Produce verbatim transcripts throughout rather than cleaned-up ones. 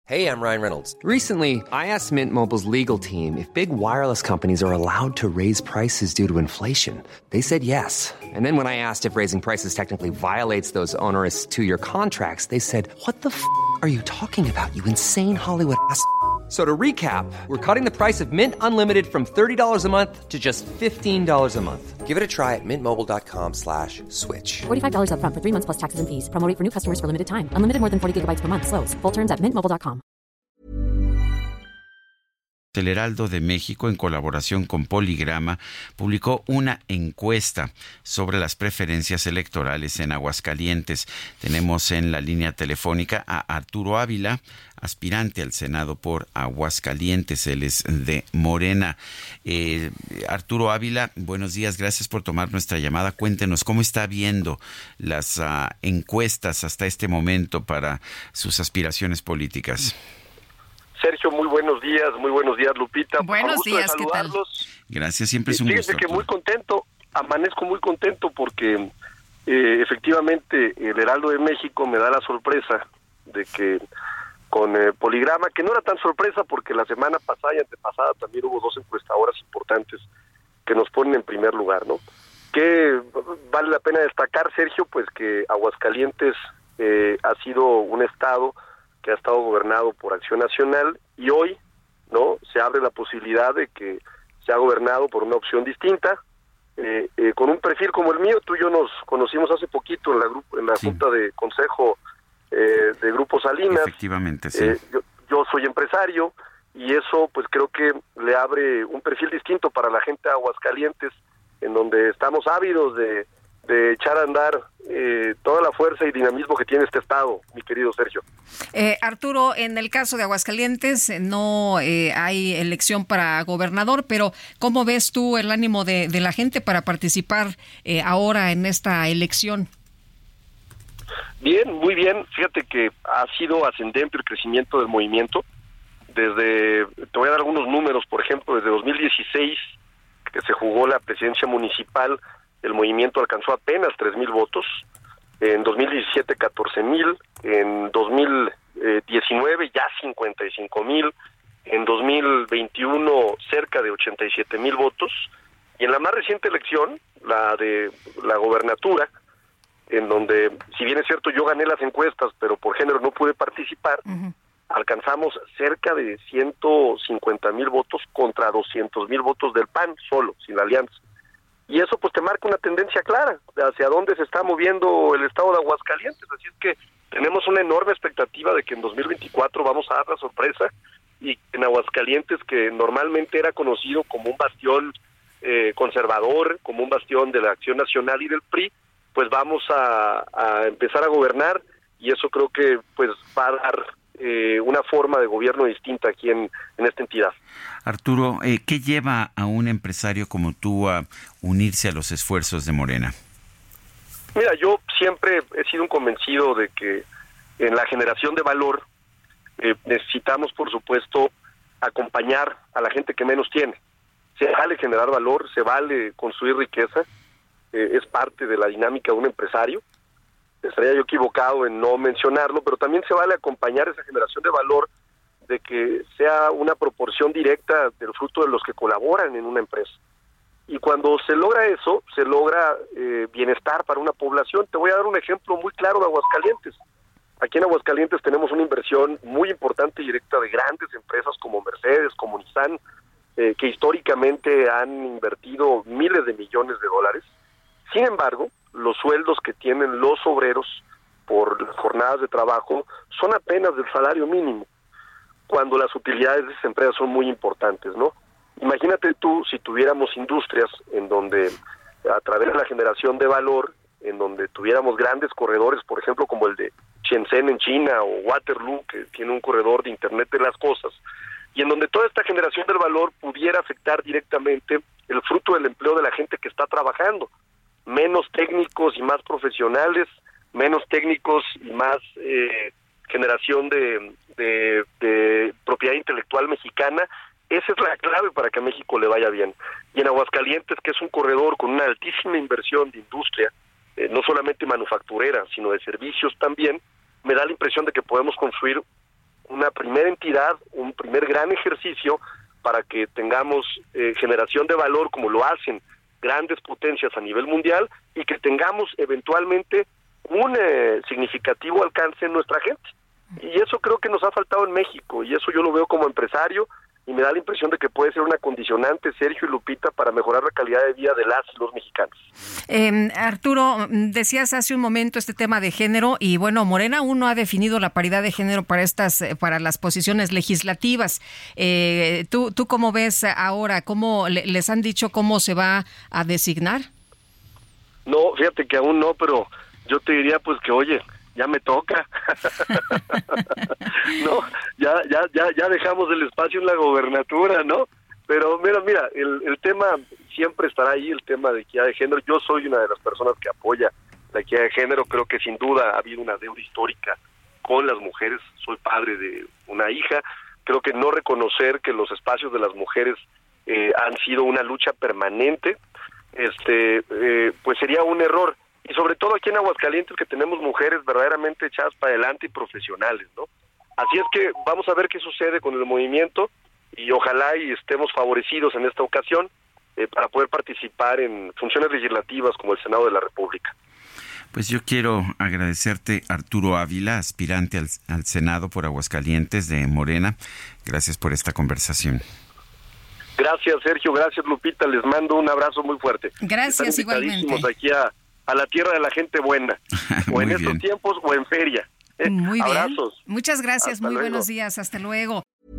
Hey, I'm Ryan Reynolds. Recently, I asked Mint Mobile's legal team if big wireless companies are allowed to raise prices due to inflation. They said yes. And then when I asked if raising prices technically violates those onerous two-year contracts, they said, what the f*** are you talking about, you insane Hollywood ass f- So to recap, we're cutting the price of Mint Unlimited from thirty dollars a month to just fifteen dollars a month. Give it a try at mintmobile.com slash switch. forty-five dollars up front for three months plus taxes and fees. Promo rate for new customers for limited time. Unlimited more than forty gigabytes per month. Slows full terms at mint mobile dot com. El Heraldo de México, en colaboración con Poligrama, publicó una encuesta sobre las preferencias electorales en Aguascalientes. Tenemos en la línea telefónica a Arturo Ávila, aspirante al Senado por Aguascalientes. Él es de Morena. Eh, Arturo Ávila, buenos días, gracias por tomar nuestra llamada. Cuéntenos cómo está viendo las uh, encuestas hasta este momento para sus aspiraciones políticas. Sergio, muy buenos días, muy buenos días, Lupita. Buenos días, ¿qué tal? Gracias, siempre es un Fíjese gusto. que muy contento, amanezco muy contento porque eh, efectivamente el Heraldo de México me da la sorpresa de que con eh, Poligrama, que no era tan sorpresa porque la semana pasada y antepasada también hubo dos encuestadoras importantes que nos ponen en primer lugar, ¿no? Que vale la pena destacar, Sergio, pues que Aguascalientes eh, ha sido un estado que ha estado gobernado por Acción Nacional y hoy, ¿no?, se abre la posibilidad de que sea gobernado por una opción distinta, eh, eh, con un perfil como el mío. Tú y yo nos conocimos hace poquito en la grupo, en la sí. Junta de Consejo eh, de Grupo Salinas. Efectivamente, sí. Eh, yo, yo soy empresario y eso pues creo que le abre un perfil distinto para la gente de Aguascalientes, en donde estamos ávidos de de echar a andar eh, toda la fuerza y dinamismo que tiene este estado, mi querido Sergio. Eh, Arturo, en el caso de Aguascalientes no eh, hay elección para gobernador, pero ¿cómo ves tú el ánimo de, de la gente para participar eh, ahora en esta elección? Bien, muy bien. Fíjate que ha sido ascendente el crecimiento del movimiento. Desde, te voy a dar algunos números, por ejemplo, desde dos mil dieciséis, que se jugó la presidencia municipal, el movimiento alcanzó apenas tres mil votos, en dos mil diecisiete catorce mil, en dos mil diecinueve ya cincuenta y cinco mil, en dos mil veintiuno cerca de ochenta y siete mil votos, y en la más reciente elección, la de la gobernatura, en donde, si bien es cierto, yo gané las encuestas, pero por género no pude participar, uh-huh. alcanzamos cerca de ciento cincuenta mil votos contra doscientos mil votos del P A N solo, sin la alianza. Y eso pues te marca una tendencia clara hacia dónde se está moviendo el estado de Aguascalientes. Así es que tenemos una enorme expectativa de que en dos mil veinticuatro vamos a dar la sorpresa, y en Aguascalientes, que normalmente era conocido como un bastión eh, conservador, como un bastión de la Acción Nacional y del P R I, pues vamos a, a empezar a gobernar, y eso creo que pues va a dar eh, una forma de gobierno distinta aquí en, en esta entidad. Arturo, eh, ¿qué lleva a un empresario como tú a unirse a los esfuerzos de Morena? Mira, yo siempre he sido un convencido de que en la generación de valor eh, necesitamos, por supuesto, acompañar a la gente que menos tiene. Se vale generar valor, se vale construir riqueza, eh, es parte de la dinámica de un empresario. Estaría yo equivocado en no mencionarlo, pero también se vale acompañar esa generación de valor de que sea una proporción directa del fruto de los que colaboran en una empresa. Y cuando se logra eso, se logra eh, bienestar para una población. Te voy a dar un ejemplo muy claro de Aguascalientes. Aquí en Aguascalientes tenemos una inversión muy importante y directa de grandes empresas como Mercedes, como Nissan, eh, que históricamente han invertido miles de millones de dólares. Sin embargo, los sueldos que tienen los obreros por las jornadas de trabajo son apenas del salario mínimo, cuando las utilidades de esas empresas son muy importantes, ¿no? Imagínate tú si tuviéramos industrias en donde, a través de la generación de valor, en donde tuviéramos grandes corredores, por ejemplo, como el de Shenzhen en China, o Waterloo, que tiene un corredor de Internet de las cosas, y en donde toda esta generación del valor pudiera afectar directamente el fruto del empleo de la gente que está trabajando. Menos técnicos y más profesionales, menos técnicos y más eh, generación de, de, de propiedad intelectual mexicana. Esa es la clave para que a México le vaya bien. Y en Aguascalientes, que es un corredor con una altísima inversión de industria, eh, no solamente manufacturera, sino de servicios también, me da la impresión de que podemos construir una primera entidad, un primer gran ejercicio para que tengamos eh, generación de valor como lo hacen grandes potencias a nivel mundial y que tengamos eventualmente un eh, significativo alcance en nuestra gente. Y eso creo que nos ha faltado en México, y eso yo lo veo como empresario, y me da la impresión de que puede ser una condicionante, Sergio y Lupita, para mejorar la calidad de vida de las y los mexicanos. Eh, Arturo, decías hace un momento este tema de género, y bueno, Morena aún no ha definido la paridad de género para estas, para las posiciones legislativas. Eh, ¿tú, ¿Tú cómo ves ahora? ¿Cómo le, les han dicho cómo se va a designar? No, fíjate que aún no, pero yo te diría pues que, oye, ya me toca. No, ya, ya, ya, ya dejamos el espacio en la gobernatura, ¿no? Pero mira, mira, el, el tema siempre estará ahí, el tema de equidad de género. Yo soy una de las personas que apoya la equidad de género. Creo que sin duda ha habido una deuda histórica con las mujeres. Soy padre de una hija. Creo que no reconocer que los espacios de las mujeres eh, han sido una lucha permanente, este, eh, pues sería un error. Y sobre todo aquí en Aguascalientes, que tenemos mujeres verdaderamente echadas para adelante y profesionales, ¿no? Así es que vamos a ver qué sucede con el movimiento y ojalá y estemos favorecidos en esta ocasión eh, para poder participar en funciones legislativas como el Senado de la República. Pues yo quiero agradecerte, Arturo Ávila, aspirante al, al Senado por Aguascalientes de Morena. Gracias por esta conversación. Gracias, Sergio. Gracias, Lupita. Les mando un abrazo muy fuerte. Gracias, igualmente. Aquí a a la tierra de la gente buena, o en estos tiempos o en feria. Muy bien. Abrazos. Muchas gracias, Hasta muy luego. buenos días, hasta luego.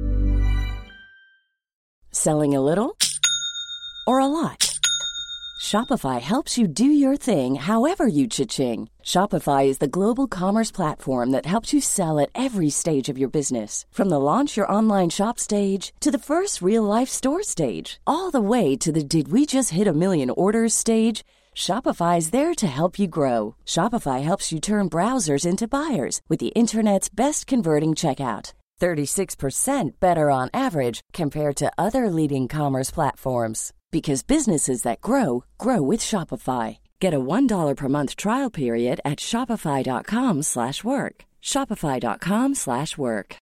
Selling a little or a lot? Shopify helps you do your thing however you cha-ching. Shopify is the global commerce platform that helps you sell at every stage of your business. From the launch your online shop stage to the first real-life store stage, all the way to the did we just hit a million orders stage. Shopify is there to help you grow. Shopify helps you turn browsers into buyers with the internet's best converting checkout. thirty-six percent better on average compared to other leading commerce platforms. Because businesses that grow, grow with Shopify. Get a one dollar per month trial period at shopify.com slash work. Shopify.com slash work.